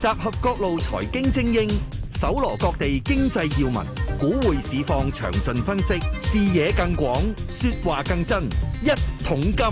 集合各路財經精英，搜羅各地經濟要聞，股匯市況詳盡分析，視野更廣，說話更真。一桶金。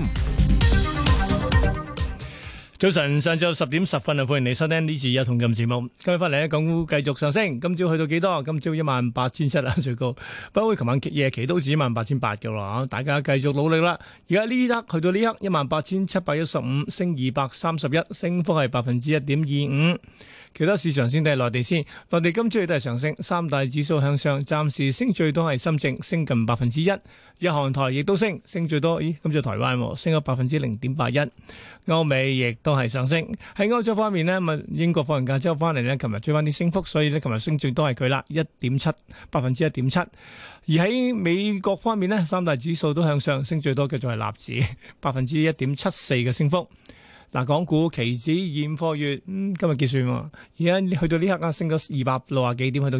早晨，上晝10:10歡迎你收聽呢次一桶金節目。今日翻嚟咧，港股繼續上升，今朝去到幾多？今朝18,700啦，最高。不過琴晚夜期都至18,800嘅啦，大家繼續努力啦。而家呢刻去到呢刻18,715，升231，升幅係1.25%。其他市場先睇內地先，內地今朝亦都係上升，三大指數向上，暫時升最多係深證，升近1%。日韓台亦都升，升最多，今朝台灣升咗0.81%。歐美亦都係上升。喺歐洲方面呢，英國放完假之後翻嚟呢，琴日追翻啲升幅，所以呢，琴日升最多係佢啦，1.7%。而喺美國方面呢，三大指數都向上，升最多嘅就係納指，1.74%嘅升幅。嗱，港股期指現貨月今日結算喎，而家去到呢刻啊，升咗260幾點，去到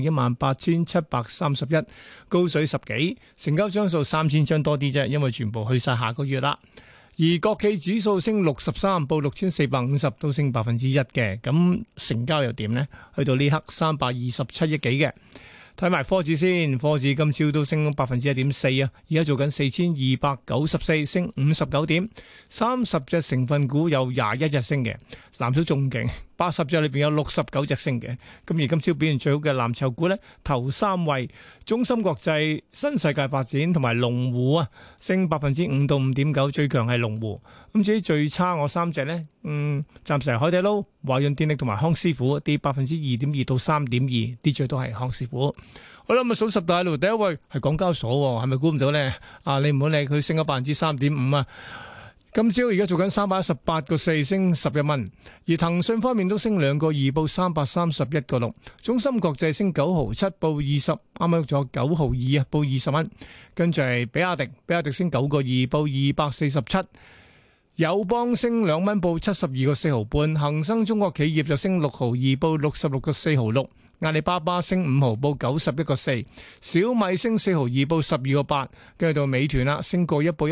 18,731，高水10幾，成交張數3000張多啲啫，因為全部去晒下個月啦。而國企指數升63，報6450，都升1%嘅。咁成交又點呢？去到呢刻327億幾嘅。睇埋科指先，科指今朝都升1.4%啊！而家做緊4294，升59點，30隻成分股有21隻升嘅，藍籌仲勁，80隻裏邊有69隻升嘅。咁而今朝表現最好嘅藍籌股呢，頭三位中芯國際、新世界發展同埋龍湖啊，升5%到5.9%，最強係龍湖。咁至於最差我三隻呢，暫時係海底撈、華潤電力同埋康師傅，跌2.2%到3.2%，跌最多係康師傅。好啦，咁數十大路第一位係港交所，係咪估唔到呢？你唔好理佢升咗3.5%啊！今朝而家做緊318.4，升11蚊。而騰訊方面都升2個2，報331.6。中芯國際升9毫7，報20，啱啱咗9毫2啊，報20蚊。跟住係比亞迪升9個2，報247。友邦升2蚊，報72.4毫半。恒生中國企業就升6毫2，報66.4毫6。阿里巴巴升5毫，報91.4。小米升4毫2，報12.8。跟住到美團啦，升個1，報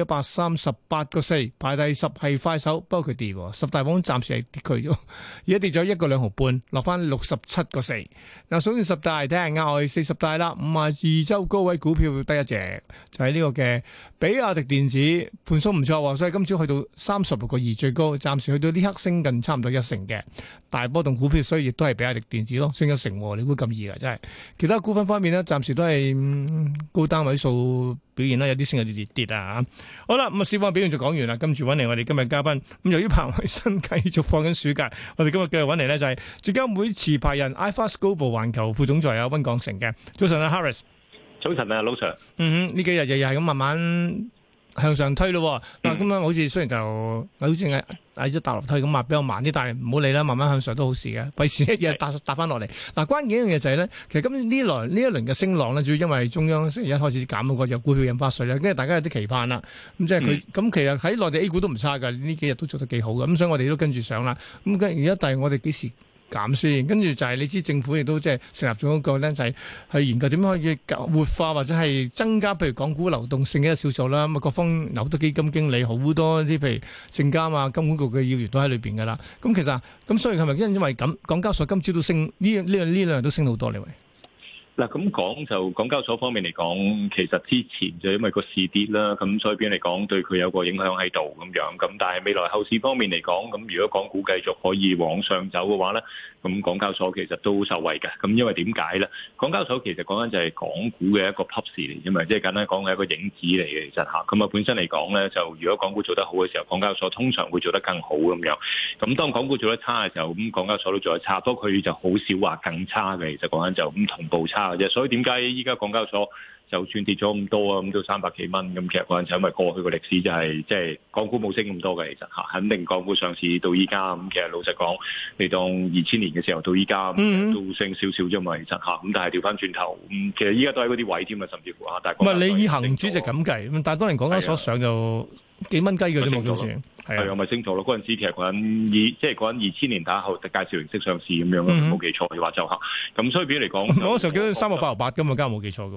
138.4。排第10係快手，不過佢跌，十大榜暫時係跌佢咗，而家跌咗1個2毫半，落翻67.4。嗱，數完十大，睇下額外40大啦。52周高位股票得一隻，就係呢個嘅比亞迪電子，盤數唔錯，所以今朝去到36.2最高，暫時去到呢刻升近差唔多1成嘅大波動股票，所以亦都係比亞迪電子咯，升1成。你估咁易㗎，真係。其他股份方面呢，暫時都係高單位數表現啦，有啲升有啲跌啊。好啦，咁啊，市況表現就講完啦。跟住揾嚟我哋今日嘉賓。咁由於彭偉新繼續放緊暑假，我哋今日繼續揾嚟呢，就係證監會持牌人 iFAST Global 環球副總裁啊溫鋼城嘅。早晨啊 Harris。 早晨啊，老 Sir。 呢幾日日係咁慢慢向上推咯。嗱，咁樣好似雖然就好似喺隻大樓梯咁比較慢啲，但係唔好理啦，慢慢向上都好事嘅，費事一日搭翻落嚟。嗱，關鍵一樣嘢就係咧，其實今年呢一輪嘅升浪咧，主要因為中央星期一開始減嗰個有股票印花稅咧，跟住大家有啲期盼啦。咁即係佢咁，其實喺內地 A 股都唔差㗎，呢幾日都做得幾好嘅。咁所以我哋都跟住上啦。咁而家但係我哋幾時減先？跟住就係你知政府亦都即係成立咗一個咧，就係去研究點樣可以活化或者係增加，譬如港股流動性嘅一個小組啦。咁啊，各方有好多基金經理，好多啲譬如證監啊、金管局嘅要員都喺裏邊噶啦。咁其實咁，所以係咪因為咁，港交所今朝都升呢兩日都升好多呢？喂？ 嗱，咁講就港交所方面嚟講，其實之前就因為個市跌啦，咁所以邊嚟講對佢有個影響喺度咁樣。咁但係未來後市方面嚟講，咁如果港股繼續可以往上走嘅話咧，咁港交所其實都受惠嘅。咁因為點解咧？港交所其實講緊就係港股嘅一個 proxy 嚟啫嘛，即係簡單講係一個影子嚟嘅。其實嚇，咁啊本身嚟講咧，就如果港股做得好嘅時候，港交所通常會做得更好咁樣。咁當港股做得差嘅時候，咁港交所都做得差，不過佢就好少話更差嘅。其實講緊就咁同步差。所以點解依家港交所就算跌咗咁多啊，咁都300幾蚊咁，其實嗰陣就因為過去個歷史就係即係港股冇升咁多嘅，其實嚇肯定港股上市到依家咁，其實老實講，你當2000年嘅時候到依家都升少少啫嘛，其實嚇咁，但係調翻轉頭其實依家都喺嗰啲位添啊，甚至乎嚇，但係唔係你以恒指就咁計，咁但係當年港交所上就幾蚊雞嘅啫嘛，好似係啊，咪升咗咯。嗰陣時其實嗰陣即係嗰陣2000年打後介紹形式上市咁樣，冇記錯嘅話就嚇。咁所以比如嚟講， 我嗰時候記得3個8毫8㗎嘛，加冇記錯嘅話。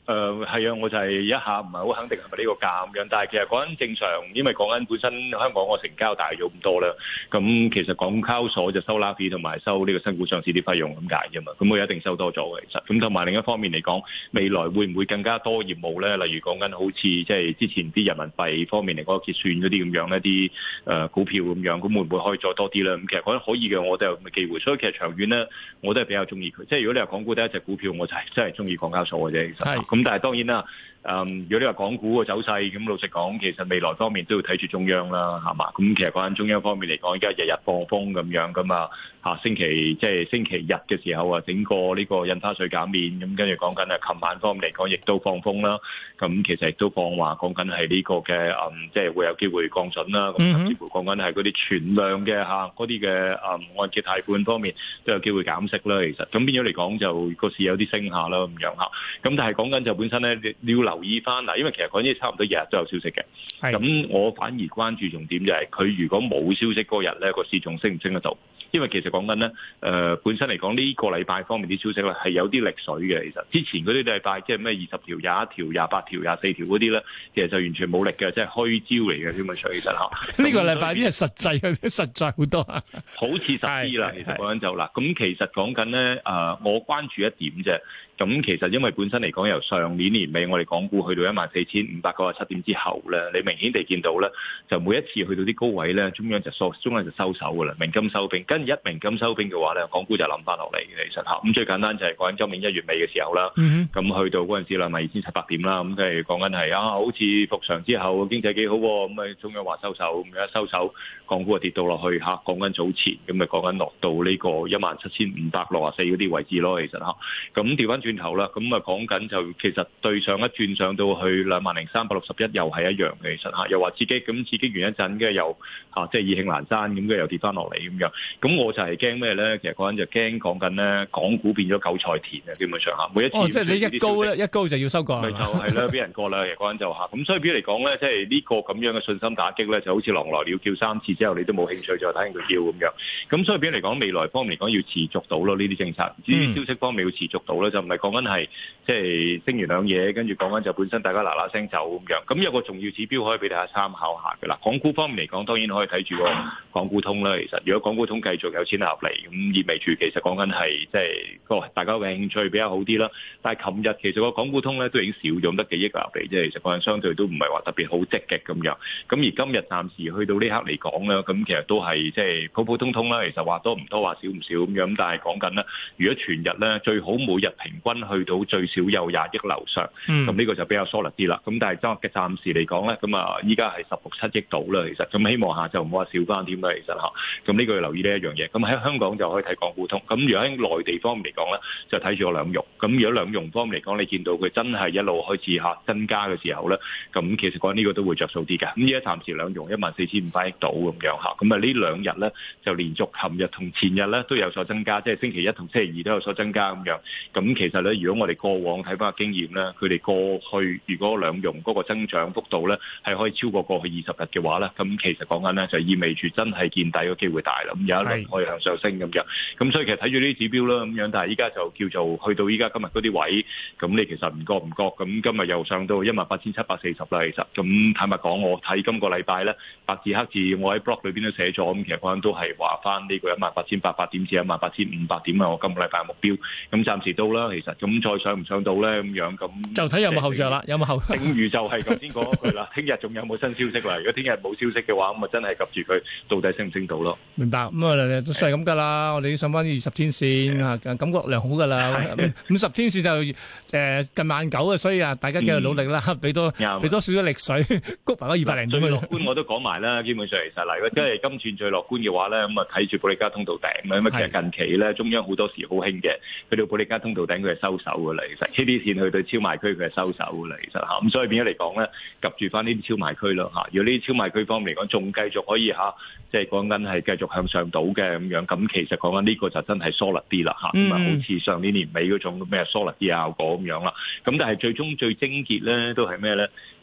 係啊，我就係一下唔係好肯定係咪呢個價咁樣，但係其實講緊正常，因為講緊本身香港個成交大咗咁多啦，咁其實港交所就收 LAFI 同埋收呢個新股上市啲費用咁解啫嘛，咁佢一定收多咗嘅其實，咁同埋另一方面嚟講，未來會唔會更加多業務咧？例如講緊好似即係之前啲人民幣方面嚟講結算嗰啲咁樣一啲股票咁樣，咁會唔會可以再多啲咧？咁其實講緊可以嘅，我都有咁嘅機會，所以其實長遠咧，我都係比較中意佢。即係如果你話港股得一隻股票，我就係真係中意港交所嘅啫。其實咁但係當然啦，如果你話港股嘅走勢，咁老實講，其實未來方面都要睇住中央啦，係嘛？咁其實講緊中央方面嚟講，而家日日放風咁樣噶嘛，星期即係星期日嘅時候啊，整個呢個印花稅減免，咁跟住講緊琴晚方面嚟講，亦都放風啦。咁其實亦都放話講緊係呢個嘅即係會有機會降準啦。咁甚至乎講緊係嗰啲存量嘅嗰啲嘅按揭貸款方面都有機會減息啦。其實咁變咗嚟講，就個市有啲升下啦咁樣嚇。咁但係講緊就本身咧，你要留意翻嗱，因為其實講緊差唔多日日都有消息嘅。咁我反而關注重點就係佢如果冇消息嗰日咧，個市仲升唔升得到？因為其實講緊咧，本身嚟講呢個禮拜方面啲消息咧係有啲力水嘅。其實之前嗰啲禮拜即係咩20條、21條、28條、24條嗰啲咧，其實就完全冇力嘅，即係虛招嚟嘅。基本上其實嚇呢個禮拜啲係實際嘅，實在好多啊， 好似實啲啦。其實講緊就啦，咁其實講緊咧，我關注一點啫。咁其實因為本身嚟講，由上年年尾我哋港股去到14,597點之後咧，你明顯地見到咧，就每一次去到啲高位咧，中央就收手㗎啦，鳴金收兵。跟住一鳴金收兵嘅話咧，港股就冧翻落嚟嘅。其實咁最簡單就係講緊今年1月尾嘅時候啦，咁去到嗰陣時啦，咪2,700點啦，咁即係講緊係好似復常之後經濟幾好喎，咁中央話收手，咁一收手，港股就跌到落去講緊早前，咁咪講緊落到呢個17,564嗰啲位置咯。其實咁調翻轉頭啦，咁講緊就其實對上一轉上到去20,361又係一樣嘅。其實又話刺激，咁刺激完一陣，跟住又即係意興闌珊，咁跟住又跌翻落嚟咁樣。咁我就係驚咩咧？其實嗰陣就驚講緊咧，港股變咗韭菜田啊！基本上每一次即係你一高咧，一高就要收割， 咪就係啦，俾人割啦。其實嗰陣就咁所以比如嚟講咧，即係呢個咁樣嘅信心打擊咧，就好似狼來了叫3次之後，你都冇興趣再睇佢叫咁樣。咁所以比如嚟講，未來方面嚟講要持續到咯，呢啲政策，呢啲消息方面要持續到咧，就唔係講緊係即係升完兩嘢，跟住講緊就本身大家嗱嗱聲走咁樣。咁有個重要指標可以俾大家參考下嘅啦。港股方面嚟講，當然可以睇住個港股通啦。其實如果港股通繼續有錢流入嚟，咁意味住其實講緊係即係個大家嘅興趣比較好啲啦。但係琴日其實個港股通咧都已經少咗得幾億流入嚟，即係其實個人相對都唔係話特別好積極咁樣。咁而今日暫時去到呢刻嚟講咧，咁其實都係即係普普通通啦。其實話多唔多，話少唔少咁樣。但係講緊咧，如果全日咧最好每日平均去到最少有20億樓上，咁呢個就比較 solid 啲啦。咁但係暫時嚟講咧，咁依家係16-17億度啦。其實咁希望下就唔好話少翻添啦。其實咁呢個要留意呢一樣嘢。咁喺香港就可以睇港股通。咁如果喺內地方面嚟講咧，就睇住個兩融。咁如果兩融方面嚟講，你見到佢真係一路開始增加嘅時候咧，咁其實講呢個都會着數啲嘅。咁而家暫時兩融14,500億度咁樣嚇。咁啊呢兩日咧就連續琴日同前日咧都有所增加，即係星期一同星期二都有所增加咁樣。咁其實咧，如果我哋過往睇翻個經驗咧，佢哋過去如果兩融嗰個增長幅度咧係可以超過過去20日嘅話咧，咁其實講緊咧就意味住真係見底嘅機會大啦。咁有一輪可以向上升咁樣。咁所以其實睇住呢啲指標啦咁樣，但係依家就叫做去到依家今日嗰啲位，咁你其實唔覺，咁今日又上到18,740啦。其實咁坦白講，我睇今個禮拜咧白字黑字，我喺 blog 裏邊都寫咗，咁其實講緊都係話翻呢個18,800點至18,500點啊，我今個禮拜嘅目標。咁暫時到啦，其實咁再上唔上到咧咁樣，咁就睇有冇後著啦，有冇後。 正如就係頭先講嗰句啦，聽日仲有冇新消息啦？如果聽日冇消息嘅話，咁啊真係及住佢到底升唔升到咯。 明白，咁都係咁噶啦。我哋要上翻20天線啊，感覺良好噶啦。50天線就近190啊，所以大家繼續努力啦，俾多少少力水，谷埋嗰200零點。 最樂觀我都講埋啦，基本上其實嗱，如果真係今轉最樂觀嘅話咧，咁啊睇住保利加通道頂啦。咁啊其實近期咧，中央好多時好興嘅，去到保利加通道頂佢係收手噶啦。其實呢啲線去到超賣區佢係收手噶啦。其實咁所以變咗嚟講咧，及住翻呢啲超賣區咯嚇。如果呢啲超賣區方面嚟講，仲繼續可以即係講緊係繼續向上到嘅咁樣，咁其實講緊呢個就真係 solid 啲啦嚇。咁啊，好似上年年尾嗰種咩 solid 啲效果咁樣啦。咁但係最終最癥結咧都係咩咧？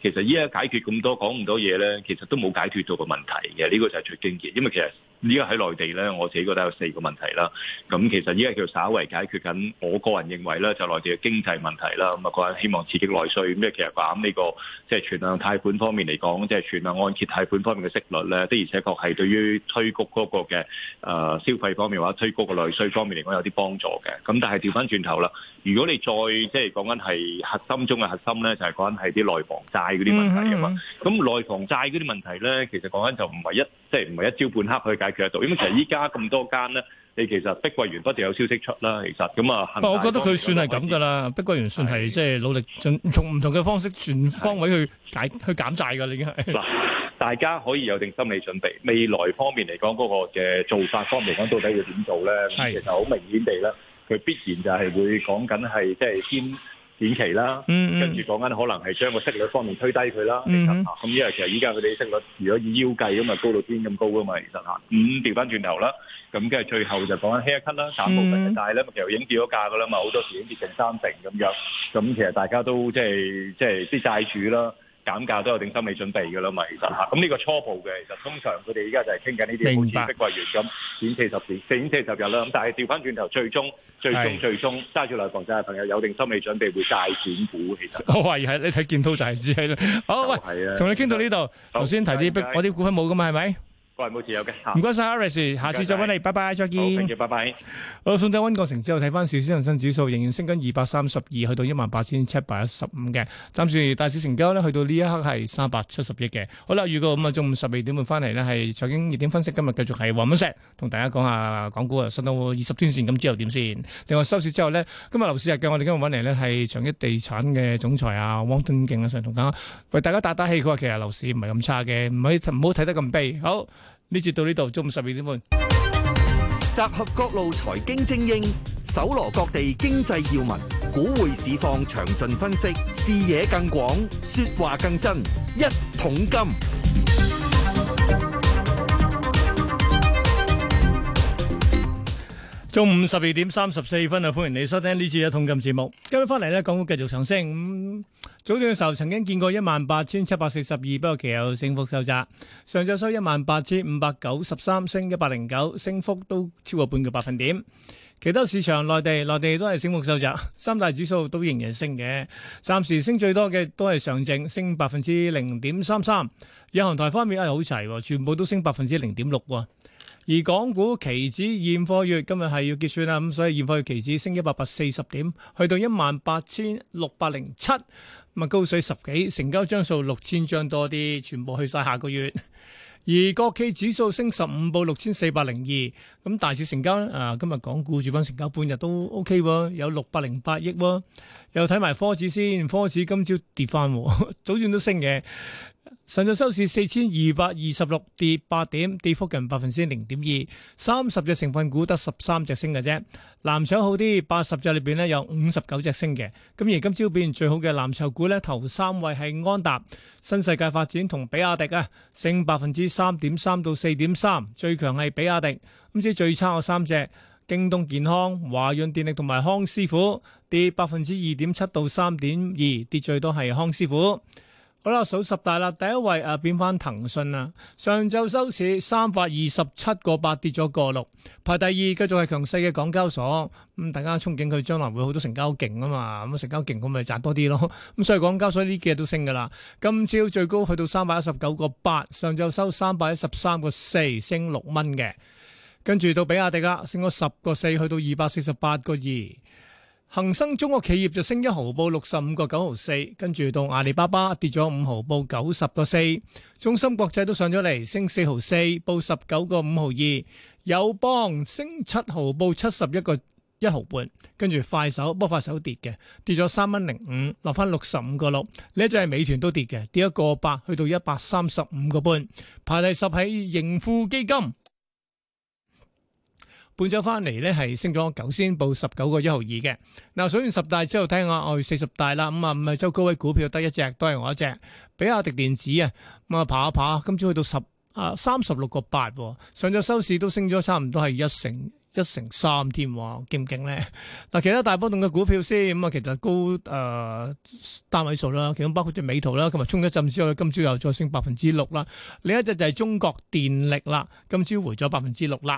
其實依家解決咁多講咁多嘢咧，其實都冇解決到個問題嘅，呢個就係最經典，因為其實。依家喺內地咧，我自己覺得有4個問題啦。咁其實依家叫稍為解決緊，我個人認為咧，就內地嘅經濟問題啦。咁啊，個人希望刺激內需。咁其實講呢個即係存量貸款方面嚟講，即係存量按揭貸款方面嘅息率咧，的而且確係對於推谷嗰個嘅消費方面或者推谷個內需方面嚟講有啲幫助嘅。咁但係調翻轉頭啦，如果你再即係講緊係核心中嘅核心咧，就係講緊係啲內房債嗰啲問題啊嘛。咁內房債嗰啲問題咧，其實講緊就唔係唔係一朝半刻去解決得到，因為其實依家咁多間咧，你其實碧桂園不斷有消息出啦，其實咁啊， 我覺得佢算係咁噶啦，碧桂園算係即係努力從唔同嘅方式全方位去減債噶啦，已經係嗱， 大家可以有定心理準備，未來方面嚟講嗰個嘅做法方面嚟講，到底要點做咧？其實好明顯地咧，佢必然就係會講緊係即係先。短期啦，跟住講緊可能係將個息率方面推低佢啦，咁因為其實依家佢哋息率如果以腰計咁啊高到天咁高噶嘛，其實嚇，咁調翻轉頭啦，咁跟住最後就講緊 haircut 啦，減部分嘅債咧，其實已經跌咗價噶啦嘛，好多時已經跌成3成咁樣，咁其實大家都即係啲債主啦。減價都有定心理準備㗎啦嘛，其實嚇，咁呢個初步嘅，其實通常佢哋而家就係傾緊呢啲，好似碧桂園咁，短40日啦，咁但係調翻轉頭，最終揸住內房債嘅朋友有定心理準備會債轉股，其實我懷疑係你睇建滔就係知係啦。好，喂，同你傾到呢度，頭先提啲我啲股份冇㗎嘛，係咪？ 個人冇持有嘅， 唔該晒 Aris， 下次再揾你，拜拜，再見。 好，跟住拜拜。 好，送走溫國成之後，睇翻市，恒生指數仍然升緊232，去到18,715嘅。暫時大市成交咧，去到呢一刻係370億嘅。好啦，預告咁啊，中午12點半翻嚟呢，係財經熱點分析。今日繼續係黃敏石同大家講下港股啊，上到20天線咁之後點先。另外收市之後呢，今日樓市日嘅，我哋今日揾嚟呢係長益地產嘅總裁啊汪敦敬啊，上同大家為大家打打氣。佢話其實樓市唔係咁差嘅，唔好睇得咁悲。好。呢節到呢度，中午12點半。 集合各路財經精英，搜羅各地經濟要聞，股匯市況詳盡分析，視野更廣，說話更真。一桶金。 中午12點34分啊！歡迎你收聽呢次嘅一桶金節目。今日翻嚟呢，港股繼續上升。早段嘅時候曾經見過18,742，不過其後升幅收窄。上晝收18,593，升109，升幅都超過半個百分點。其他市場內地都係升幅收窄，三大指數都仍然升嘅。暫時升最多嘅都係上證，升0.33%。日韓台方面好齊，全部都升0.6%。而港股期指現貨月今日係要結算啦，咁所以現貨月期指升140點，去到18,607，咁啊高水10幾，成交張數6000張多啲，全部去晒下個月。而國企指數升15，報6402，咁大市成交今日港股主板成交半日都 OK 喎，有608億喎。又睇埋科指先，科指今朝跌翻，早段都升嘅。上晝收市4226，跌8點，跌幅近0.2%。30隻成分股得13隻升嘅啫。藍籌好啲，80隻裏邊咧有59隻升嘅。咁而今朝表現最好嘅藍籌股咧，頭3位係安踏、新世界發展同比亞迪啊，升3.3%到4.3%。最強係比亞迪。咁至於最差嘅3隻，京東健康、華潤電力同埋康師傅，跌2.7%到3.2%，跌最多係康師傅。好啦，數十大啦，第一位變翻騰訊啦，上晝收市327.8，跌咗1.6，排第二，繼續係強勢嘅港交所。大家憧憬佢將來會好多成交勁啊嘛，咁成交勁咁咪賺多啲咯。咁所以港交所呢幾日都升噶啦，今朝最高去到319.8，上晝收313.4，升6蚊嘅。跟住到比亞迪啦，升咗10.4，去到248.2。恒生中國企業就升1毫，報65.9毫4，跟住到阿里巴巴跌咗5毫，報90.4，中芯國際都上咗嚟，升4毫4，報19.5毫2，友邦升7毫，報71.1毫半，跟住快手，不過快手跌嘅，跌咗3.05，落翻65.6，呢一隻係美團都跌嘅，跌1.8，去到135.5，排第10喺盈富基金。半咗翻嚟咧，係升咗9仙，報19.1毫2嘅。嗱，數完10大之後，睇下我40大啦。咁啊，五周高位股票得一隻，都係我一隻，比亞迪電子啊。咁啊，爬一爬，今朝去到36.8，上晝收市都升咗差唔多係1成 1.3%添喎，勁唔勁咧？嗱，其他大波動嘅股票先，咁啊，其實高單位數啦，其中包括隻美圖啦，今日衝一陣之後，今朝又再升6%啦。另一隻就係中國電力啦，今朝回咗6%啦。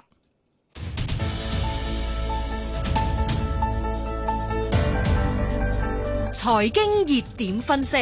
財經熱點分析，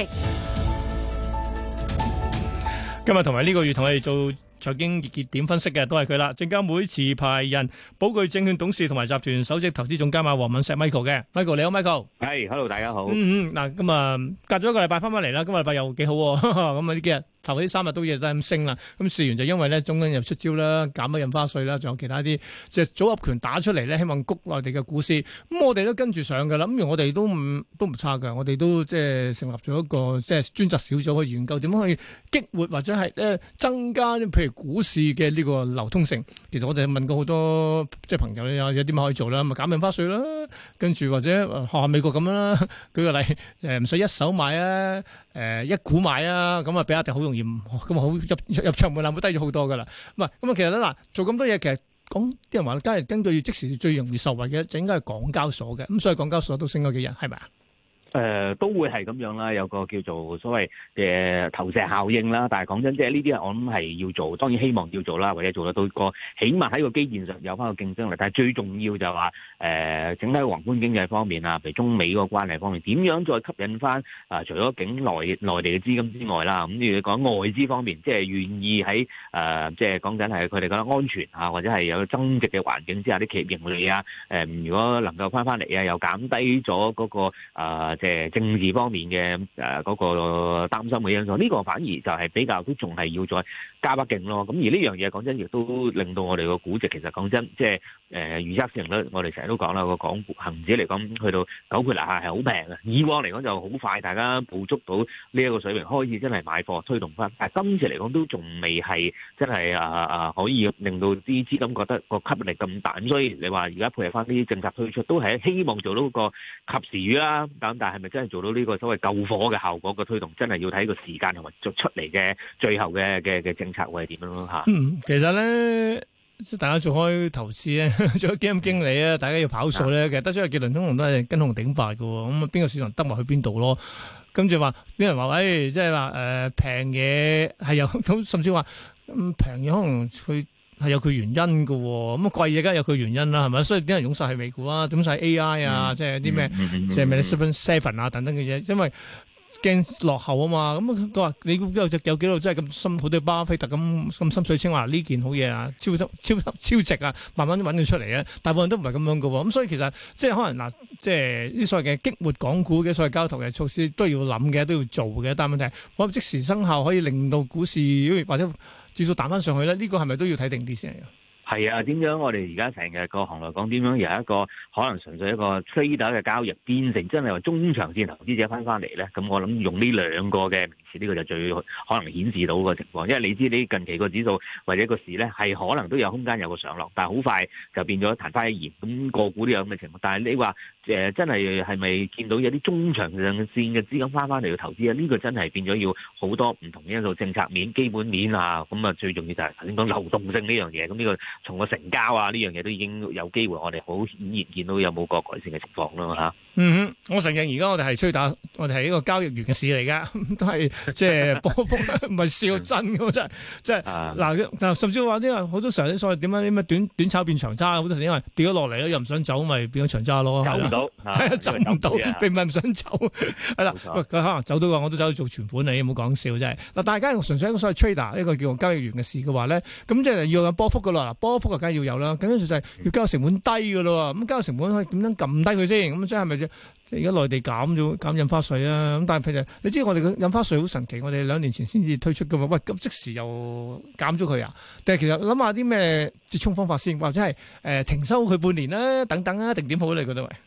今日同埋呢個月同我哋做財經熱點分析嘅都係佢啦，證監會持牌人、寶鉅證券董事同埋集團首席投資總監黃敏石 Michael 嘅 Michael， 你好 Michael。 係，hello， 大家好。 嗱，咁啊，隔咗一個禮拜翻嚟啦，今個禮拜又幾好喎，咁啊呢幾日。頭嗰3日都亦都係咁升啦，咁事緣就因為咧中央又出招啦，減咗印花稅啦，仲有其他啲即係組合拳打出嚟咧，希望谷內地嘅股市。咁我哋都跟住上㗎啦，咁而我哋都唔差㗎，我哋都即係成立咗一個即係專責小組去研究點樣去激活或者係增加譬如股市嘅呢個流通性。其實我哋問過好多即係朋友有啲乜可以做啦，咪減印花稅啦，跟住或者學下美國咁樣啦，舉個例唔使一手買啊，一股買啊，咁啊比亞迪好容易。咁好入場門檻會低咗好多噶啦，唔係咁啊！其實咧嗱，做咁多嘢，其實講啲人話，梗係根據即時最容易受惠嘅，就應該係港交所嘅，咁所以港交所都升咗幾日，係咪啊？ 都會係咁樣啦，有個叫做所謂嘅投射效應啦。但係講真，即係呢啲我諗係要做，當然希望要做啦，或者做得到個，起碼喺個基建上有翻個競爭力。但係最重要就係話整體宏觀經濟方面啊，譬如中美嗰個關係方面，點樣再吸引翻除咗境內地嘅資金之外啦，咁如果講外資方面，即係願意喺即係講緊係佢哋覺得安全啊，或者係有增值嘅環境之下，啲企業盈利啊，如果能夠翻嚟啊，又減低咗嗰個政治方面嘅嗰個擔心嘅因素，呢個反而就係比較都仲係要再加把勁咯。咁而呢樣嘢講真，亦都令到我哋個估值其實講真，即係預測市盈率，我哋成日都講啦，個港股恆指嚟講去到9倍樓下係好平嘅。以往嚟講就好快，大家捕捉到呢一個水平，開始真係買貨推動翻。但係今次嚟講都仲未係真係可以令到啲資金覺得個吸引力咁大。咁所以你話而家配合翻啲政策推出，都係希望做到個及時雨啦。咁但係咪真係做到呢個所謂救火嘅效果嘅推動？真係要睇個時間同埋做出嚟嘅最後嘅政策會係點樣咯嚇。 其實咧，大家做開投資咧，做咗基金經理啊，大家要跑數咧，其實得出嘅結論通常都係跟紅頂白嘅喎。咁啊，邊個市場得埋去邊度咯？跟住話啲人話，即係話平嘢係有咁，甚至話平嘢可能佢係有佢原因嘅喎。咁貴嘢梗係有佢原因啦，係咪？所以啲人湧晒去美股啊，湧晒 AI 啊，即係啲咩，即係 Magnificent Seven 啊等等嘅嘢，因為驚落後啊嘛。咁佢話你估有幾多真係咁深，好似巴菲特咁深水清話呢件好嘢啊，超值啊，慢慢揾佢出嚟啊。大部分都唔係咁樣嘅喎。咁所以其實即係可能嗱，即係啲所謂嘅激活港股嘅所謂交投嘅措施都要諗嘅，都要做嘅。但係問題係，可即時生效可以令到股市或者指數彈翻上去咧，呢個係咪都要睇定啲先？ 係啊，點樣我哋而家成日個行內講點樣由一個可能純粹一個 trader 嘅交易變成真係話中長線投資者翻嚟咧？咁我諗用呢兩個嘅名詞，呢個就最可能顯示到個情況。因為你知你近期個指數或者個市咧係可能都有空間有個上落，但係好快就變咗曇花一現。咁個股都有咁嘅情況。但係你話真係咪見到有啲中長線嘅資金翻嚟去投資啊？呢個真係變咗要好多唔同因素，政策面、基本面啊。咁啊，最重要就係頭先講流動性呢樣嘢。咁呢個從個成交啊呢樣嘢都已經有機會，我哋好顯然見到有冇個改善嘅情況咯嚇。 我承認而家我哋係吹打，我哋係一個交易員嘅市嚟㗎，都係即係波幅唔係笑真㗎，真係即係嗱，甚至話啲好多時候啲所謂點樣啲咩短炒變長揸，好多時因為跌咗落嚟又唔想走，咪變咗長揸咯。走唔到，走唔到，並唔係唔想走，係啦。佢可能走到話，我都走去做存款你，冇講笑真係。嗱，大家純粹一個所謂 trader 一個叫做交易員嘅市嘅話咧，咁即係要有波幅㗎啦。波幅梗係要有啦，緊要就係要交易成本低㗎咯。咁交易成本可以點樣撳低佢先？咁即係咪而家內地減印花稅啊？咁但係譬如你知我哋嘅印花稅好神奇，我哋2年前先至推出㗎嘛。喂，咁即時又減咗佢啊？但係其實諗下啲咩折衷方法先，或者係停收佢半年啦，等等啊，定點好你覺得喂？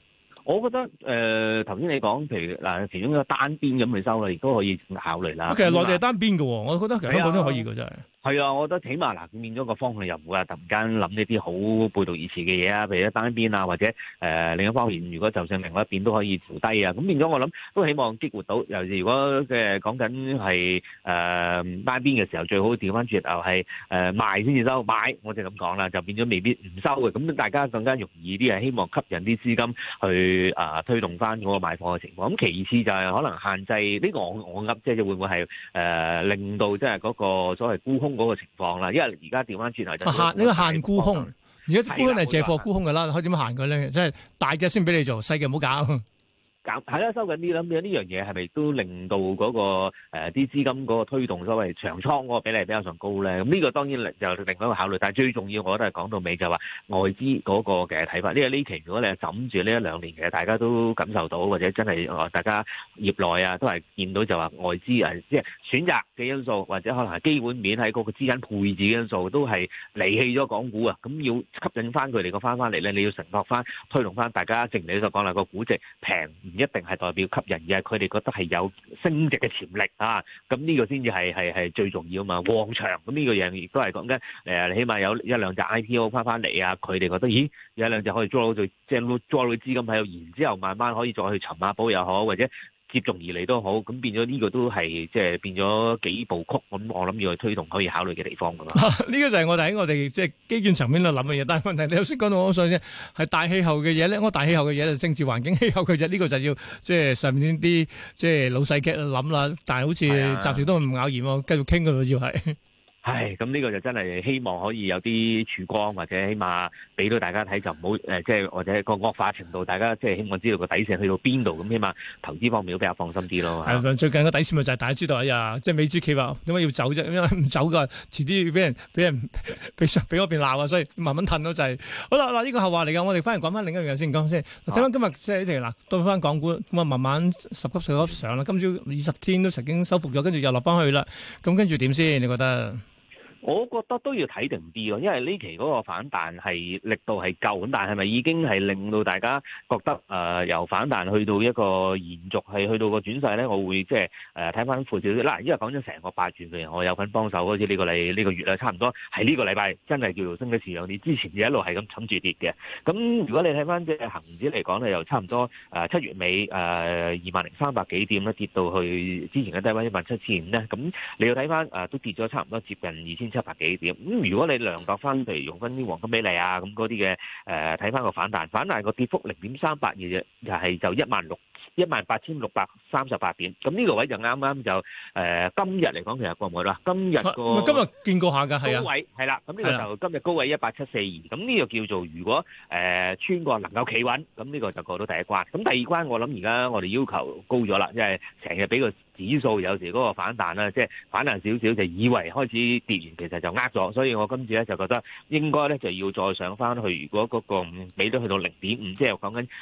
我覺得頭先你講，譬如嗱，其中一個單邊咁去收啦，亦都可以考慮啦。 其實內地係單邊嘅，我覺得其實香港都可以嘅，真係。 係啊，我覺得起碼嗱，變咗個方向又唔會話突然間諗呢啲好背道而馳嘅嘢啊，譬如一單邊啊，或者另一方面，如果就算另外一邊都可以調低啊，咁變咗我諗都希望激活到。尤其如果講緊係單邊嘅時候，最好調翻轉頭係賣先至收，買我就咁講啦，就變咗未必唔收嘅。咁大家更加容易啲係希望吸引啲資金去推動翻嗰個買貨嘅情況。咁其次就係可能限制呢個我噏即係會唔會係令到即係嗰個所謂沽空嗰個情況啦，因為而家調翻轉頭就限呢個限沽空，而家沽空係借貨沽空㗎啦，可以點樣限佢咧？即係大嘅先俾你做，細嘅唔好搞。 係啦，收緊啲啦，咁呢樣嘢係咪都令到嗰個啲資金嗰個推動所謂長倉嗰個比例比較上高咧？咁呢個當然就另外一個考慮，但係最重要我覺得係講到尾就話外資嗰個嘅睇法。因為呢期如果你係枕住呢一兩年嘅，大家都感受到或者真係大家業內啊都係見到就話外資即係選擇嘅因素，或者可能係基本面喺嗰個資產配置嘅因素都係離棄咗港股啊。咁要吸引翻佢哋個翻嚟咧，你要承諾翻推動翻大家，正如你所講啦，個估值平。一定係代表吸引，而係佢哋覺得係有升值嘅潛力啊！咁呢個先至係最重要啊嘛，旺場咁呢個嘢亦都係講緊你起碼有一兩隻 IPO 翻嚟啊！佢哋覺得咦有一兩隻可以抓到即係抓到資金喺度，然之後慢慢可以再去尋下寶又好，或者接踵而嚟都好，咁變咗呢個都係即係變咗幾部曲，咁我諗要去推動可以考慮嘅地方噶嘛。 呢個就係我哋喺我哋即係基建層面度諗嘅嘢，但係問題你頭先講到我想啫，係大氣候嘅嘢咧，我大氣候嘅嘢就政治環境氣候嘅啫，呢個就要即係上面啲即係老細嘅諗啦。但係好似暫時都唔咬言喎，繼續傾噶咯，要係。 係，咁呢個就真係希望可以有啲曙光，或者起碼俾到大家睇就唔好即係或者個惡化程度，大家即係希望知道個底線去到邊度，咁起碼投資方面都比較放心啲咯。 係最近個底線咪就係大家知道即係美資企話點解要走啫？因為唔走㗎，遲啲要俾人俾嗰邊鬧啊，所以慢慢褪咯就係。好啦，嗱呢個後話嚟㗎，我哋翻嚟講翻另一樣嘢先講先。睇翻今日即係呢條嗱，到翻港股咁啊，慢慢十級上啦。今朝20天都曾經收復咗，跟住又落翻去啦。咁跟住點先？你覺得？ 我覺得都要睇定啲咯，因為呢期嗰個反彈係力度係夠，咁但係咪已經係令到大家覺得由反彈去到一個延續係去到個轉勢咧？我會即係睇翻闊少少啦。因為講咗成個8月嘅人，我有份幫手，好似呢個月啦，差唔多係呢個禮拜真係叫做升得似樣啲。之前就一路係咁冚住跌嘅。咁如果你睇翻即係恆指嚟講咧，又差唔多7月尾20,300幾點咧，跌到去之前嘅低位17,500咧。咁你要睇翻都跌咗差唔多接近2,700幾點。咁如果你量度翻，譬如用翻啲黃金比例啊，咁嗰啲嘅睇翻個反彈個跌幅0.38嘅啫，就18,638點。咁呢個位就啱啱就今日嚟講，其實過唔過啦？今日見過下㗎，係啊， 高位係啦。咁呢個就今日高位18742。咁呢個叫做如果穿過能夠企穩，咁呢個就過到第一關。咁第二關我諗而家我哋要求高咗啦，因為成日俾個指數有時嗰個反彈啦，即係反彈少少就以為開始跌完，其實就呃咗。所以我今次咧就覺得應該咧就要再上翻去。如果嗰個俾到去到0.5，即係講緊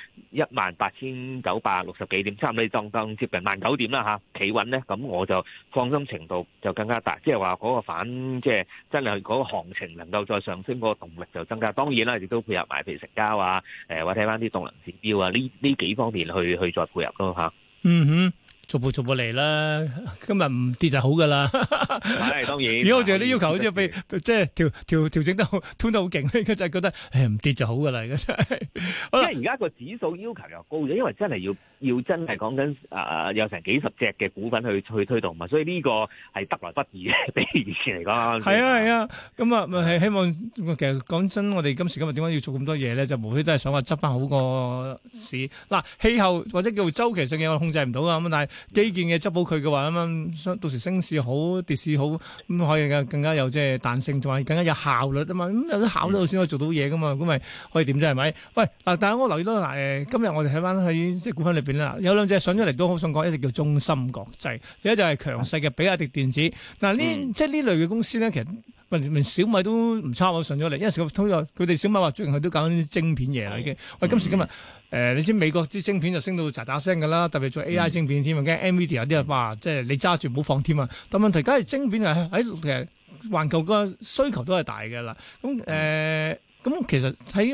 18,960幾點，差唔多當接近19,000點啦嚇，企穩咧，咁我就放心程度就更加大。即係話嗰個即係真係嗰個行情能夠再上升，嗰個動力就增加。當然啦，亦都配合埋譬如成交啊，或者睇翻啲動能指標啊，呢幾方面去再配合咯嚇。 嗯哼。逐步嚟啦，今日唔跌就好噶啦。 係當然。如果我哋啲要求好似被即係調整得好，推得好勁咧，就係覺得唔跌就好噶啦，而家真係。 因為而家個指數要求又高咗，因為真係要真係講緊有成幾十隻嘅股份去推動嘛，所以呢個係得來不易嘅，比以前嚟講。 係啊，咁啊係希望其實講真，我哋今時今日點解要做咁多嘢咧？就無非都係想話執翻好個市。嗱，氣候或者叫做周期性嘅我控制唔到啊，咁但係基建嘅執好佢嘅話，咁到時升市好跌市好，咁可以更加有即係彈性，同埋更加有效率啊嘛。咁有啲效率先可以做到嘢噶嘛，咁咪可以點啫？係咪？喂，但係我留意到今日我哋睇翻喺即係股份裏邊啦，有兩隻上咗嚟都好想講，一隻叫中芯國際，另一隻係強勢嘅比亞迪電子。嗱即係呢類嘅公司咧，其實連小米都唔差，我上咗嚟，因為佢哋小米話最近佢都搞緊啲晶片嘢啦已經。喂，今時今日你知美國啲晶片就升到喳喳聲㗎啦，特別做 AI 晶片添啊，驚 NVIDIA 有啲啊哇，即係你揸住唔好放添啊。但問題梗係晶片喺其實環球個需求都係大嘅啦。咁其實喺我哋嘅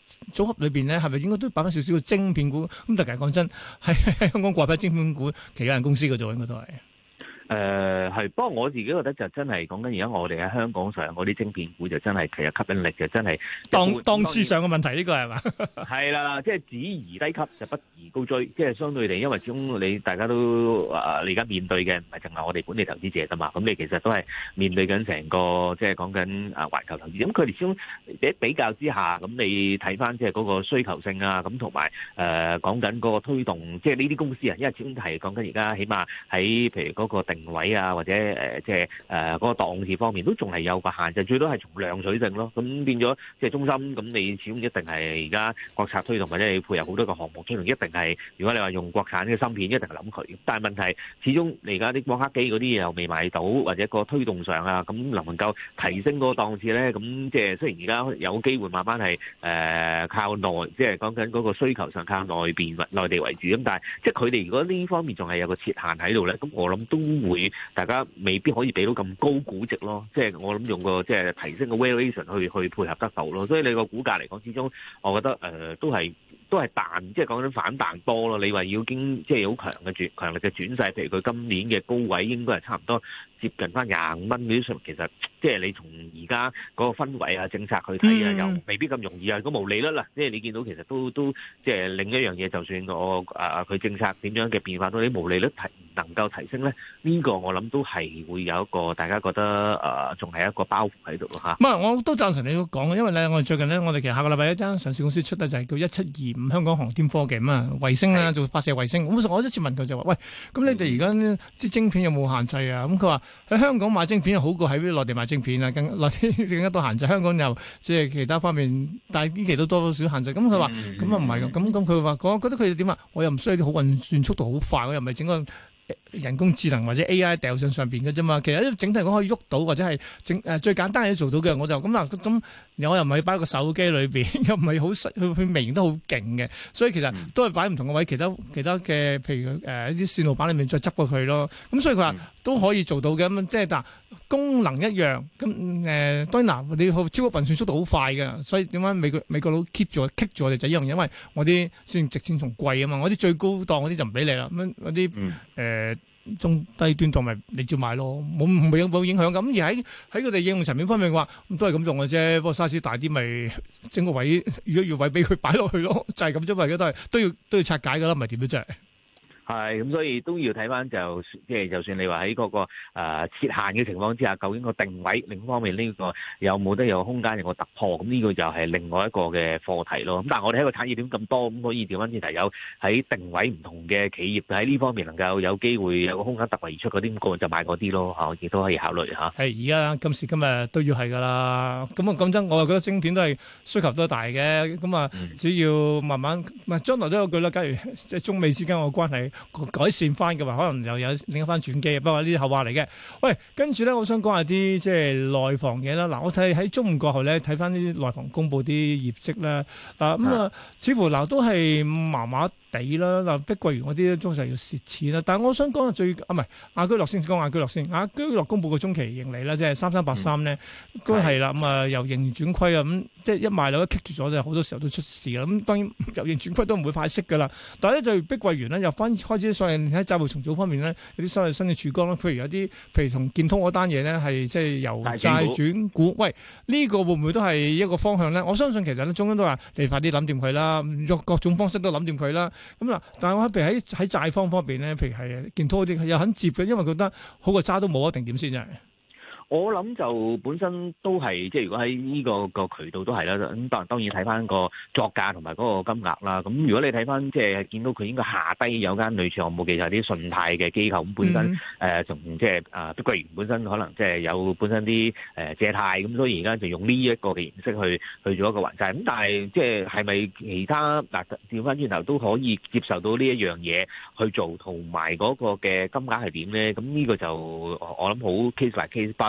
組合裏邊咧，係咪應該都擺翻少少嘅晶片股？咁但係講真，喺香港掛牌晶片股，其他間公司嘅啫，應該都係。 係，不過我自己覺得就真係講緊而家我哋喺香港上嗰啲晶片股就真係其實吸引力就真係檔次上嘅問題，呢個係嘛？ 係啦，即係只宜低吸就不宜高追，即係相對地，因為始終你大家都你而家面對嘅唔係淨係我哋本地投資者㗎嘛，咁你其實都係面對緊成個即係講緊環球投資，咁佢哋始終比較之下，咁你睇翻即係嗰個需求性啊，咁同埋講緊嗰個推動，即係呢啲公司啊，因為始終係講緊而家起碼喺譬如嗰個定位啊，或者即係嗰個檔次方面都仲係有個限制，最多係從量取勝咯。咁變咗即係中心，咁你始終一定係而家國策推動或者你配合好多個項目推動，一定係如果你話用國產嘅芯片，一定係諗佢。但係問題始終你而家啲光刻機嗰啲嘢又未買到，或者個推動上啊，咁能唔能夠提升個檔次咧？咁即係雖然而家有機會慢慢係靠內，即係講緊嗰個需求上靠內地為主，咁但係即係佢哋如果呢方面仲係有個設限喺度咧，咁我諗都會大家未必可以俾到咁高估值咯，即係我諗用個即係提升個 valuation 去配合得到咯，所以你個股價嚟講，始終我覺得都係彈，即係講緊反彈多咯。你話要經即係好強力嘅轉勢，譬如佢今年嘅高位應該係差唔多接近翻25蚊嗰啲水平，其實即係你從而家嗰個氛圍啊、政策去睇啊，又未必咁容易啊。個毛利率啦，即係你見到其實都即係另一樣嘢，就算佢政策點樣嘅變化，到啲毛利率能夠提升咧，呢個我諗都係會有一個大家覺得仲係一個包袱喺度咯嚇。 唔係，我都贊成你講嘅，因為咧，我哋最近咧，我哋其實下個禮拜一間上市公司出咧就係叫1725香港航天科技啊，衛星啦，做發射衛星。咁我一次問佢就話：喂，咁你哋而家啲晶片有冇限制啊？咁佢話喺香港買晶片好過喺內地買晶片啊，內地更加多限制。香港又即係其他方面，但係呢期都多少限制。咁佢話：咁啊唔係咁，咁佢話我覺得佢哋點啊？我又唔需要啲好運算速度好快，我又唔係整個人工智能或者 AI 掉上邊嘅啫嘛，其實整體嚟講可以喐到，或者係最簡單嘅做到嘅，我就咁嗱咁，我又唔係擺喺個手機裏邊，又唔係好實，佢微型都好勁嘅，所以其實都係擺唔同嘅位，其他嘅譬如一啲線路板裏面再執過佢咯，咁所以佢話都可以做到嘅，咁即係但功能一樣，咁當然嗱，你超級運算速度好快嘅，所以點解美國佬 keep 住我哋就一樣，因為我啲先值錢仲貴啊嘛，我啲最高檔嗰啲就唔俾你啦，咁嗰啲中低端同埋你照買咯，冇影響咁。而喺佢哋應用層面方面嘅話，都係咁用嘅啫。不過 size 大啲，咪整個位預一預位俾佢擺落去咯，就係咁啫嘛。而家都要拆解噶啦，唔係點樣真係。 係咁，所以都要睇翻就即係，就算你話喺嗰個設限嘅情況之下，究竟個定位另一方面呢個有冇得有空間有個突破？咁呢個就係另外一個嘅課題咯。咁但係我哋喺個產業鏈咁多，咁可以調翻轉頭有喺定位唔同嘅企業喺呢方面能夠有機會有個空間突圍而出嗰啲，咁個就買嗰啲咯嚇，亦都可以考慮嚇。 係而家今時今日都要係㗎啦。咁啊講真，我又覺得晶片都係需求都大嘅。咁啊，只要慢慢將來都有句啦。假如即係中美之間嘅關係改善翻嘅話，可能又有另一番轉機。不過呢啲後話嚟嘅。喂，跟住咧，我想講下啲即係內房嘢啦。嗱，我睇喺中午過後咧，睇翻啲內房公佈啲業績啦。似乎都係麻麻地啦。嗱，碧桂園嗰啲中實要蝕錢啦。但係我想講亞居樂先講亞居樂先。亞居樂公佈個中期盈利啦，即係3383咧，都係啦。咁由盈轉虧啊，咁即係一賣樓一棘住咗，就好多時候都出事啦。咁當然由盈轉虧都唔會快息㗎啦。但係咧，就碧桂園咧又開始喺債務重組方面咧，有啲新嘅曙光啦。譬如同建通嗰單嘢咧，係即係由債轉股。喂，呢個會唔會都係一個方向咧？我相信其實咧，中央都話你快啲諗掂佢啦，用各種方式都諗掂佢啦。咁嗱，但係我譬如喺債方面咧，譬如係建通嗰啲，又肯接嘅，因為覺得好過渣都冇一定點先真係。 我諗就本身都係即係如果喺呢個渠道都係啦，咁當然睇翻個作價同埋嗰個金額啦。咁如果你睇翻即係見到佢應該下低有間類似項目嘅就係啲信貸嘅機構，咁本身從即係碧桂園本身可能即係有本身啲借貸，咁所以而家就用呢一個嘅形式去做一個還債。咁但係即係係咪其他調翻轉頭都可以接受到呢一樣嘢去做，同埋嗰個嘅金額係點咧？咁呢個就我諗好 case by case，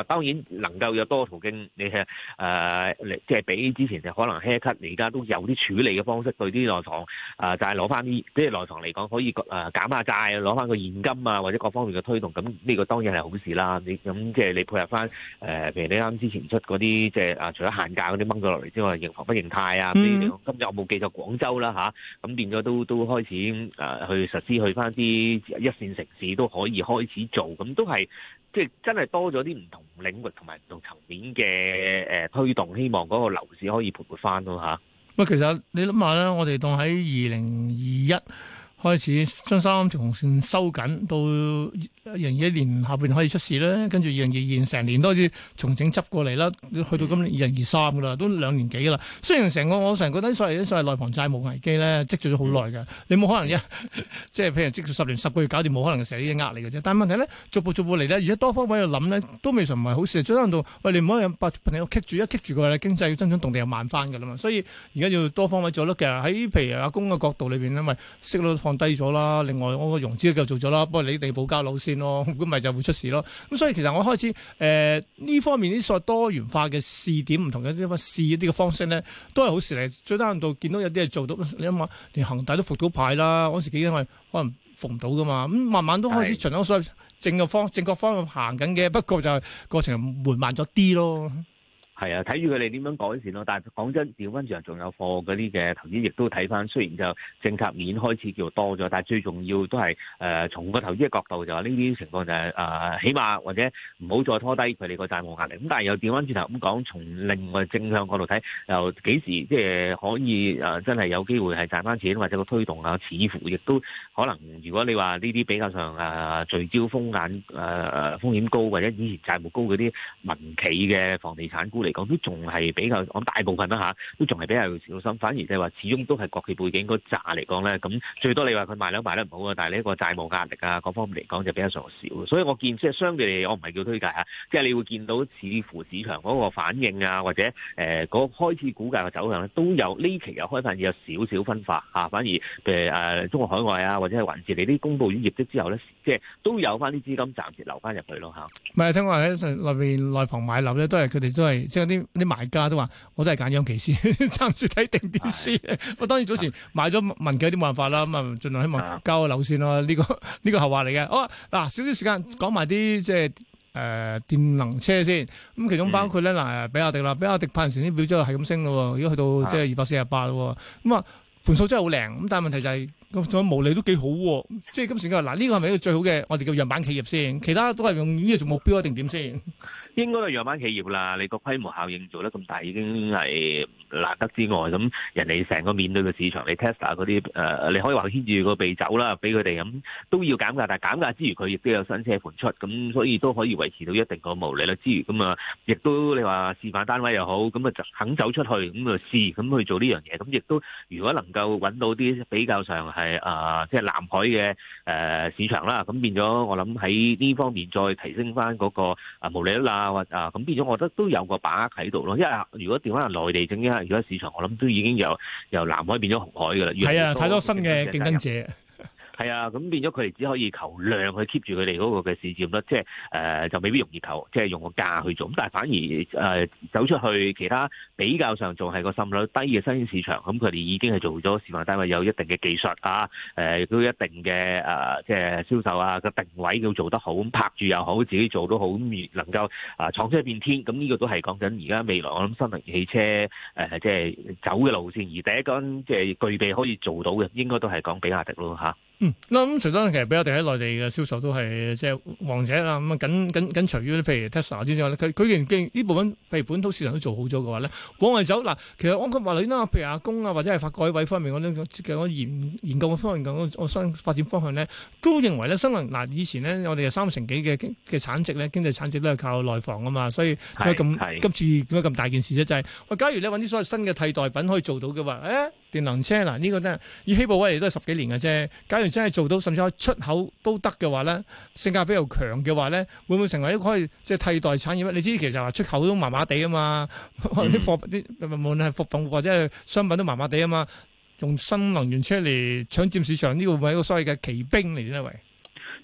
當然能夠有多途徑，你係即係比之前就可能 haircut，而家都有啲處理嘅方式對啲內房就係攞翻啲，即係內房嚟講可以減下債，攞翻個現金啊，或者各方面嘅推動，咁呢個當然係好事啦。你咁即係你配合翻譬如你啱之前出嗰啲即係除咗限價嗰啲掹咗落嚟之外，認房不認貸啊，今日我冇記錯廣州啦嚇，咁變咗都開始去實施去翻啲一線城市都可以開始做，咁都係即係真係多咗啲唔同領域同埋唔同層面嘅推動，希望嗰個樓市可以盤活翻咯嚇。 喂，其實你諗下咧，我哋當喺2021開始將三條紅線收緊，到2021年下半年可以出事咧，跟住2022年成年都開始重整執過嚟啦，去到今年2023噶啦，都2年幾啦。雖然我成日覺得所謂內房債務危機咧積聚咗好耐嘅，你冇可能即係譬如積聚10年10個月搞掂，冇可能成日呢啲呃你嘅啫。但係問題咧，逐步嚟咧，而家多方位去諗咧，都未嘗唔係好事。最緊要到喂，你唔可以把朋友棘住嘅話，經濟增長動力又慢翻㗎啦嘛。所以而家要多方位做咯。其實喺譬如阿公嘅角度裏邊咧，咪息率放低咗啦，另外我個融資又做咗啦，不過你地保交樓先咯，如果唔係就會出事咯。咁所以其實我開始呢方面啲所謂多元化嘅試點，唔同嘅啲試一啲嘅方式咧，都係好事嚟。最低限度見到有啲係做到，你諗下，連恒大都復到牌啦，嗰時幾因為可能復唔到噶嘛，咁慢慢都開始循咗所謂正確方向行緊嘅，不過就係過程緩慢咗啲咯。 係啊，睇住佢哋點樣改善咯。但係講真，調翻轉仲有貨嗰啲嘅投資，亦都睇翻。雖然就政策面開始叫多咗，但係最重要都係從個投資嘅角度就話呢啲情況就係起碼或者唔好再拖低佢哋個債務壓力。咁但係又調翻轉頭咁講，從另外正向角度睇，又幾時即係可以真係有機會係賺翻錢，或者個推動啊，似乎亦都可能。如果你話呢啲比較上聚焦風險高或者以前債務高嗰啲民企嘅房地產股嚟講都仲係比較，我諗大部分啦都仲係比較小心。反而就係話，始終都係國企背景嗰扎嚟講咧，咁最多你話佢賣樓賣得唔好啊，但係呢個債務壓力啊，各方面嚟講就比較上少。所以我見即係相對嚟，我唔係叫推介即係你會見到似乎市場嗰個反應啊，或者嗰開始股價嘅走向咧，都有呢期又開始有少少分化反而譬如中國海外啊，或者係還是你啲公佈完業績之後咧，即係都有翻啲資金暫時留翻入去咯唔係聽話喺內房買樓咧，都係佢哋都係即係啲買家都話，我都係揀央企先，暫時睇定啲先。我當然早前買咗民企啲冇辦法啦，咁啊盡量希望交個樓先咯。呢個後話嚟嘅。好啊，嗱少少時間講埋啲即係電能車先。咁其中包括咧比亞迪啦，比亞迪派成啲表之後係咁升咯，而家去到即係248咯。咁啊盤數真係好靚，咁但係問題就係個毛利都幾好喎。即係今時今日嗱，呢個係咪一個最好嘅我哋叫樣板企業先？其他都係用呢個做目標一定點先？ 應該係樣板企業啦，你個規模效應做得咁大已經係難得之外，咁人哋成個面對嘅市場，你 Tesla 嗰啲你可以話牽住個鼻走啦，俾佢哋咁都要減價，但係減價之餘佢亦都有新車盤出，咁所以都可以維持到一定個毛利率之餘，咁亦都你話示範單位又好，咁就肯走出去咁去試，咁去做呢樣嘢，咁亦都如果能夠揾到啲比較上係即係南海嘅市場啦，咁變咗我諗喺呢方面再提升翻嗰個毛利率啦。咁變咗，我覺得都有個把握喺度咯。因為如果調翻嚟內地整，而家市場我諗都已經由南海變咗紅海㗎啦。 係啊，太多新嘅競爭者。 係啊，咁變咗佢哋只可以求量去 keep 住佢哋嗰個嘅市佔率，即係就未必容易求，即係用個價去做。咁但係反而走出去其他比較上仲係個滲率低嘅新興市場，咁佢哋已經係做咗示範單位，有一定嘅技術亦都一定嘅即係銷售個定位要做得好，咁拍住又好，自己做都好，咁能夠闖出一片天。咁呢個都係講緊而家未來我諗新能源汽車即係走嘅路線，而第一間即係具備可以做到嘅，應該都係講比亞迪咯嚇。 咁除咗其實比亞迪喺內地嘅銷售都係即係王者啦，咁緊隨於譬如 Tesla 之外咧，佢既然呢部分譬如本土市場都做好咗嘅話咧，往外走嗱，其實我話你啦，譬如阿公或者係發改委方面嗰啲研究嘅方面我新發展方向咧，都認為咧新能以前咧我哋有30%幾嘅產值咧，經濟產值都係靠內房啊嘛，所以今次點解咁大件事啫？就係假如你揾啲所謂新嘅替代品可以做到嘅話，電能車嗱呢個都係以希步威嚟都係10幾年嘅啫。假如真係做到，甚至可以出口都得嘅話咧，性價比又強嘅話咧，會唔會成為一個可以即係替代產業咧？你知其實話出口都麻麻地啊嘛，啲貨啲無論係服務或者係商品都麻麻地啊嘛，用新能源車嚟搶佔市場，呢個會係一個所謂嘅奇兵嚟啫，喂。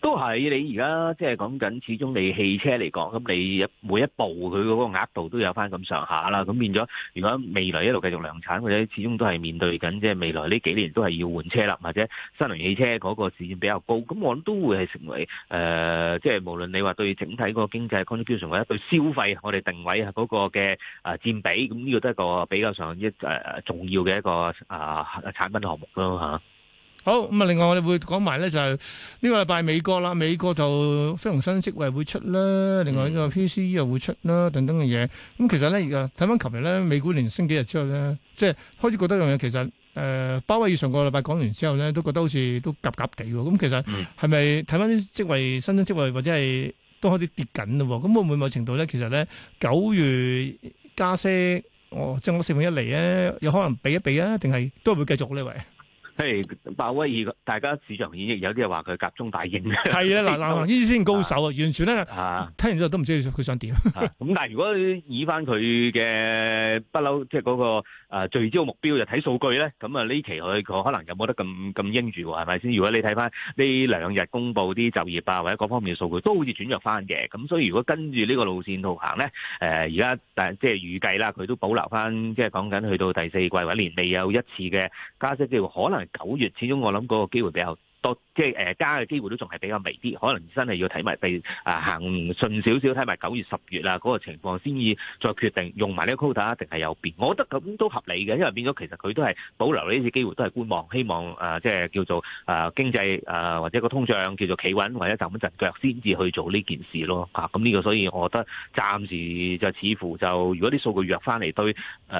都係你而家即係講緊，始終你汽車嚟講，咁你每一部佢嗰個額度都有翻咁上下啦。咁變咗，如果未來一路繼續量產，或者始終都係面對緊即係未來呢幾年都係要換車啦，或者新能源汽車嗰個市佔比較高，咁我諗都會係成為即係無論你話對整體嗰個經濟 contribution 或者對消費我哋定位嗰個嘅佔比，咁呢個都係一個比較上重要嘅一個產品項目咯嚇。 好咁啊！另外我哋會講埋咧，就係呢個禮拜美國啦，美國就非農新職位會出啦，另外呢個 PCE 又會出啦，等等嘅嘢。咁其實咧，而家睇翻琴日咧，美股連升幾日之後咧，即係開始覺得樣嘢，其實鮑威爾上個禮拜講完之後咧，都覺得好似都夾夾地喎。咁其實係咪睇翻啲職位、新增職位或者係都開始跌緊咯？咁會唔會某程度咧，其實咧9月加息，即係我4分一厘咧，有可能避一避啊？定係都係會繼續呢位？ 係鮑威爾，大家市場演繹有啲人話佢夾中帶鷹嘅。 係啊，嗱呢啲先高手啊，完全咧聽完之後都唔知佢想點。 咁但係如果以翻佢嘅不嬲，即係嗰個聚焦目標就睇數據咧，咁啊呢期佢可能有冇得咁鷹住喎？係咪先？如果你睇翻呢2日公佈啲就業啊或者各方面嘅數據，都好似轉弱翻嘅。咁所以如果跟住呢個路線圖行咧，而家即係預計啦，佢都保留翻，即係講緊去到第4季或者年尾有一次嘅加息機會，可能9月，始終我諗嗰個機會比較多，即係加嘅機會都仲係比較微啲，可能真係要睇埋行順少少，睇埋9月10月啊嗰個情況先至再決定用埋呢個 quota 定係有變。我覺得咁都合理嘅，因為變咗其實佢都係保留呢次機會，都係觀望，希望即係叫做經濟或者個通脹叫做企穩或者站穩陣腳先至去做呢件事咯。咁呢個所以我覺得暫時就似乎就如果啲數據弱翻嚟，對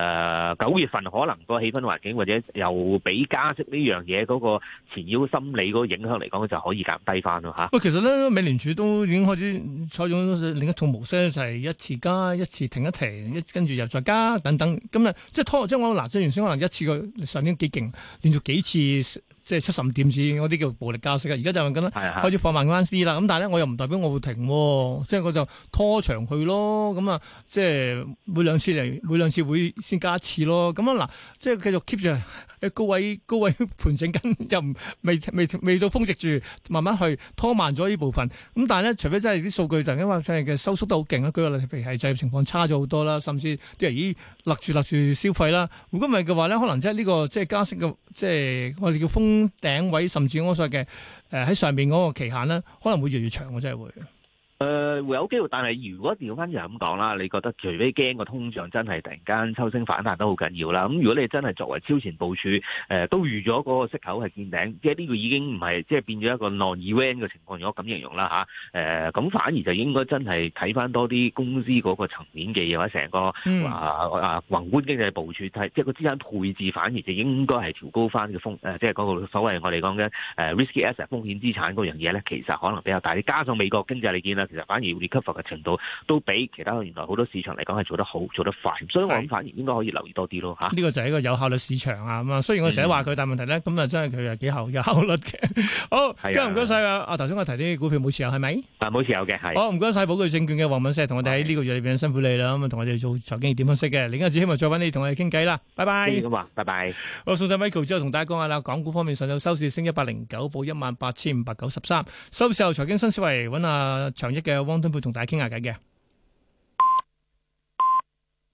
9月份可能個氣氛環境或者又俾加息呢樣嘢嗰個纏繞心理嗰個影響嚟講，就可以減低翻咯嚇。 喂，其實咧，美聯儲都已經開始採用另一套模式咧，就係一次加，一次停一停，跟住又再加等等。咁啊，即係拖，即係我嗱，即係原先可能一次過上年幾勁，連續幾次即係75點子嗰啲叫暴力加息啊。而家就咁啦，開始放慢翻啲啦。咁但係咧，我又唔代表我會停，即係我就拖長佢咯。咁啊，即係每兩次會先加一次咯。咁啊嗱，即係繼續 keep 住喺高位盤整緊，又未到峰值住，慢慢去拖慢咗呢部分。咁但係咧，除非真係啲數據突然間話真係嘅收縮得好勁啦，舉個例，譬如係就業情況差咗好多啦，甚至啲人勒住消費啦。如果唔係嘅話咧，可能即係呢個即係加息嘅，即係我哋叫封頂位，甚至我所謂嘅喺上邊嗰個期限咧，可能會越嚟越長嘅，真係會。 會有機會，但係如果調翻轉咁講啦，你覺得除非驚個通脹真係突然間抽升反彈都好緊要啦。咁如果你真係作為超前部署，都預咗嗰個息口係見頂，即係呢個已經唔係即係變咗一個 non-event 嘅情況，如果咁形容啦嚇。咁反而就應該真係睇翻多啲公司嗰個層面嘅嘢，或者成個宏觀經濟部署，即係個資產配置反而就應該係調高翻嘅即係嗰個所謂我哋講嘅risky asset 風險資產嗰樣嘢咧，其實可能比較大啲。加上美國經濟你見啦。其實反而 recover 嘅程度都比其他原來好多市場嚟講係做得好、做得快，所以我諗反而應該可以留意多啲咯嚇。呢個就係一個有效率市場啊嘛。雖然我成日話佢，但係問題咧，咁啊真係佢係幾有效率嘅。好，今日唔該晒啊！頭先我提啲股票冇持有係咪？ 冇持有嘅係。 好，唔該晒寶鉅證券嘅黃敏石同我哋喺呢個月裏邊辛苦你啦，咁啊同我哋做財經熱點分析嘅。另一次希望再揾你同我哋傾偈啦。拜拜。 咁啊，拜拜。 好，送晒 Michael 之後同大家講下啦。港股方面上晝收市升109，報18593。收市後財經新思維揾阿長益嘅汪敦沛同大家傾下偈嘅。